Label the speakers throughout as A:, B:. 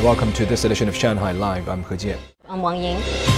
A: Welcome to this edition of Shanghai Live. I'm He Jian.
B: I'm Wang Ying.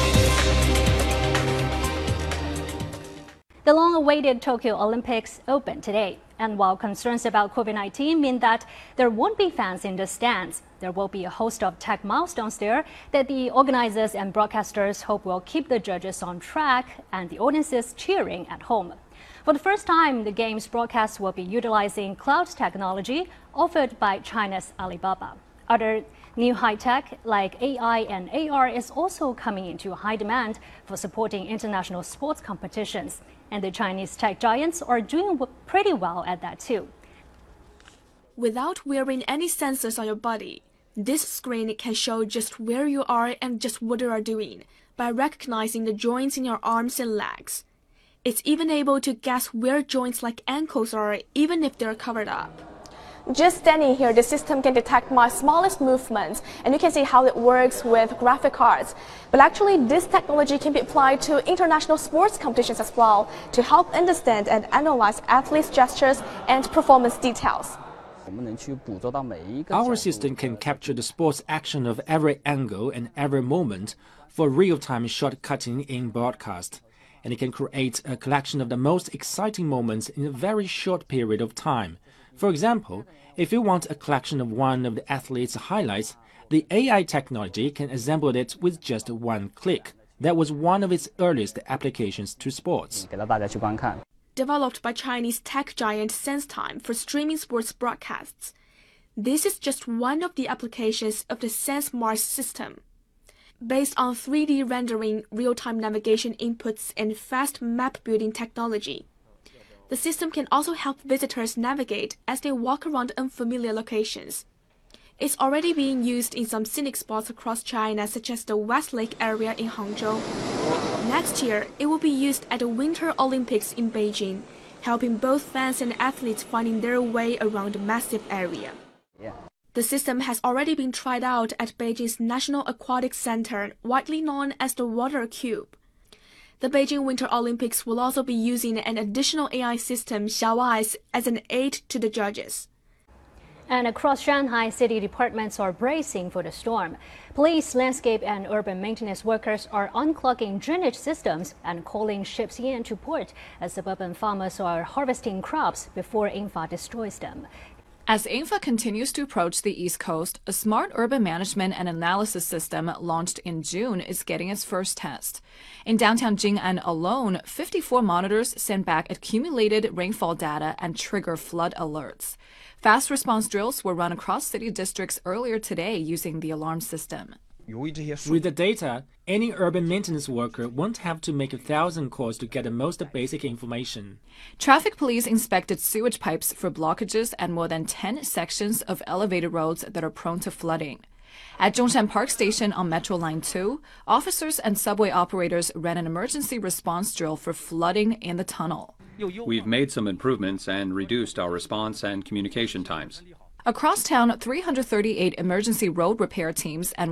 B: The long-awaited Tokyo Olympics opened today. And while concerns about COVID-19 mean that there won't be fans in the stands, there will be a host of tech milestones there that the organizers and broadcasters hope will keep the judges on track and the audiences cheering at home. For the first time, the game's broadcast will be utilizing cloud technology offered by China's Alibaba. Other new high-tech like AI and AR is also coming into high demand for supporting international sports competitions. And the Chinese tech giants are doing pretty well at that too.
C: Without wearing any sensors on your body, this screen can show just where you are and just what you are doing by recognizing the joints in your arms and legs. It's even able to guess where joints like ankles are, even if they're covered up.
D: Just standing here, the system can detect my smallest movements, and you can see how it works with graphic cards. But actually, this technology can be applied to international sports competitions as well to help understand and analyze athletes' gestures and performance details.
E: Our system can capture the sports action of every angle and every moment for real-time short-cutting in broadcast. And it can create a collection of the most exciting moments in a very short period of time. For example, if you want a collection of one of the athlete's highlights, the AI technology can assemble it with just one click. That was one of its earliest applications to sports.
C: Developed by Chinese tech giant SenseTime for streaming sports broadcasts, this is just one of the applications of the SenseMars system. Based on 3D rendering, real-time navigation inputs, and fast map-building technology, the system can also help visitors navigate as they walk around unfamiliar locations. It's already being used in some scenic spots across China, such as the West Lake area in Hangzhou. Next year, it will be used at the Winter Olympics in Beijing, helping both fans and athletes finding their way around a massive area. The system has already been tried out at Beijing's National Aquatic Center, widely known as the Water Cube. The Beijing Winter Olympics will also be using an additional AI system, Xiaoeyes, as an aid to the judges.
B: And across Shanghai, city departments are bracing for the storm. Police, landscape, and urban maintenance workers are unclogging drainage systems and calling ships in to port as suburban farmers are harvesting crops before Yingfa destroys them.
F: As Yingfa continues to approach the East Coast, a smart urban management and analysis system launched in June is getting its first test. In downtown Jing'an alone, 54 monitors send back accumulated rainfall data and trigger flood alerts. Fast response drills were run across city districts earlier today using the alarm system.
E: With the data, any urban maintenance worker won't have to make 1,000 calls to get the most basic information.
F: Traffic police inspected sewage pipes for blockages at more than 10 sections of elevated roads that are prone to flooding. At Zhongshan Park Station on Metro Line 2, officers and subway operators ran an emergency response drill for flooding in the tunnel.
G: We've made some improvements and reduced our response and communication times.
F: Across town, 338 emergency road repair teams and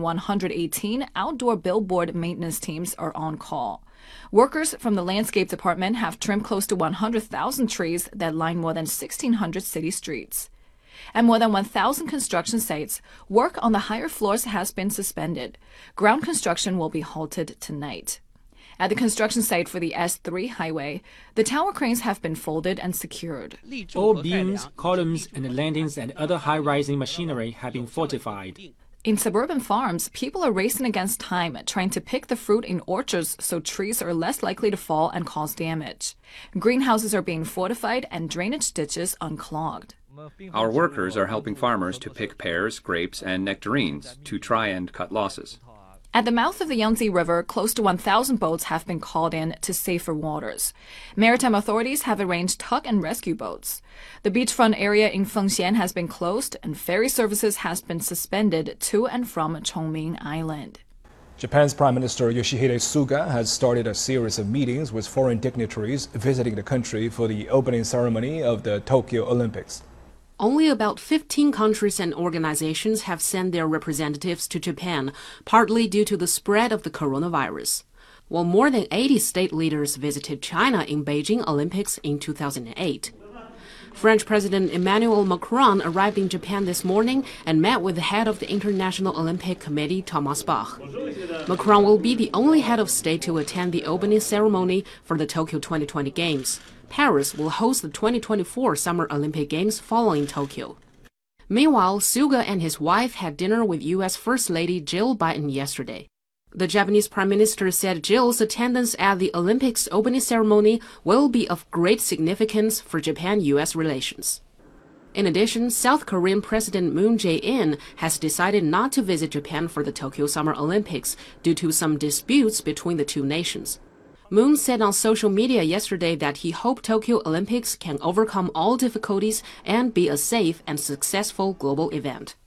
F: 118 outdoor billboard maintenance teams are on call. Workers from the landscape department have trimmed close to 100,000 trees that line more than 1,600 city streets. At more than 1,000 construction sites, work on the higher floors has been suspended. Ground construction will be halted tonight. At the construction site for the S3 highway, the tower cranes have been folded and secured.
E: All beams, columns, and landings and other high-rising machinery have been fortified.
F: In suburban farms, people are racing against time, trying to pick the fruit in orchards so trees are less likely to fall and cause damage. Greenhouses are being fortified and drainage ditches unclogged.
G: Our workers are helping farmers to pick pears, grapes, and nectarines to try and cut losses.
F: At the mouth of the Yangtze River, close to 1,000 boats have been called in to safer waters. Maritime authorities have arranged tug and rescue boats. The beachfront area in Fengxian has been closed, and ferry services has been suspended to and from Chongming Island.
A: Japan's Prime Minister Yoshihide Suga has started a series of meetings with foreign dignitaries visiting the country for the opening ceremony of the Tokyo Olympics.
H: Only about 15 countries and organizations have sent their representatives to Japan, partly due to the spread of the coronavirus. While more than 80 state leaders visited China in Beijing Olympics in 2008. French President Emmanuel Macron arrived in Japan this morning and met with the head of the International Olympic Committee, Thomas Bach. Macron will be the only head of state to attend the opening ceremony for the Tokyo 2020 Games. Paris will host the 2024 Summer Olympic Games following Tokyo. Meanwhile, Suga and his wife had dinner with U.S. First Lady Jill Biden yesterday. The Japanese Prime Minister said Jill's attendance at the Olympics opening ceremony will be of great significance for Japan-U.S. relations. In addition, South Korean President Moon Jae-in has decided not to visit Japan for the Tokyo Summer Olympics due to some disputes between the two nations. Moon said on social media yesterday that he hoped Tokyo Olympics can overcome all difficulties and be a safe and successful global event.